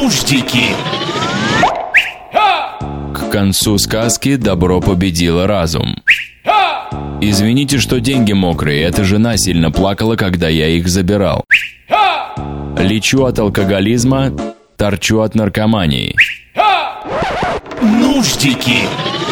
Нуждики. К концу сказки добро победило разум. Извините, что деньги мокрые, эта жена сильно плакала, когда я их забирал. Лечу от алкоголизма, торчу от наркомании. Нуждики.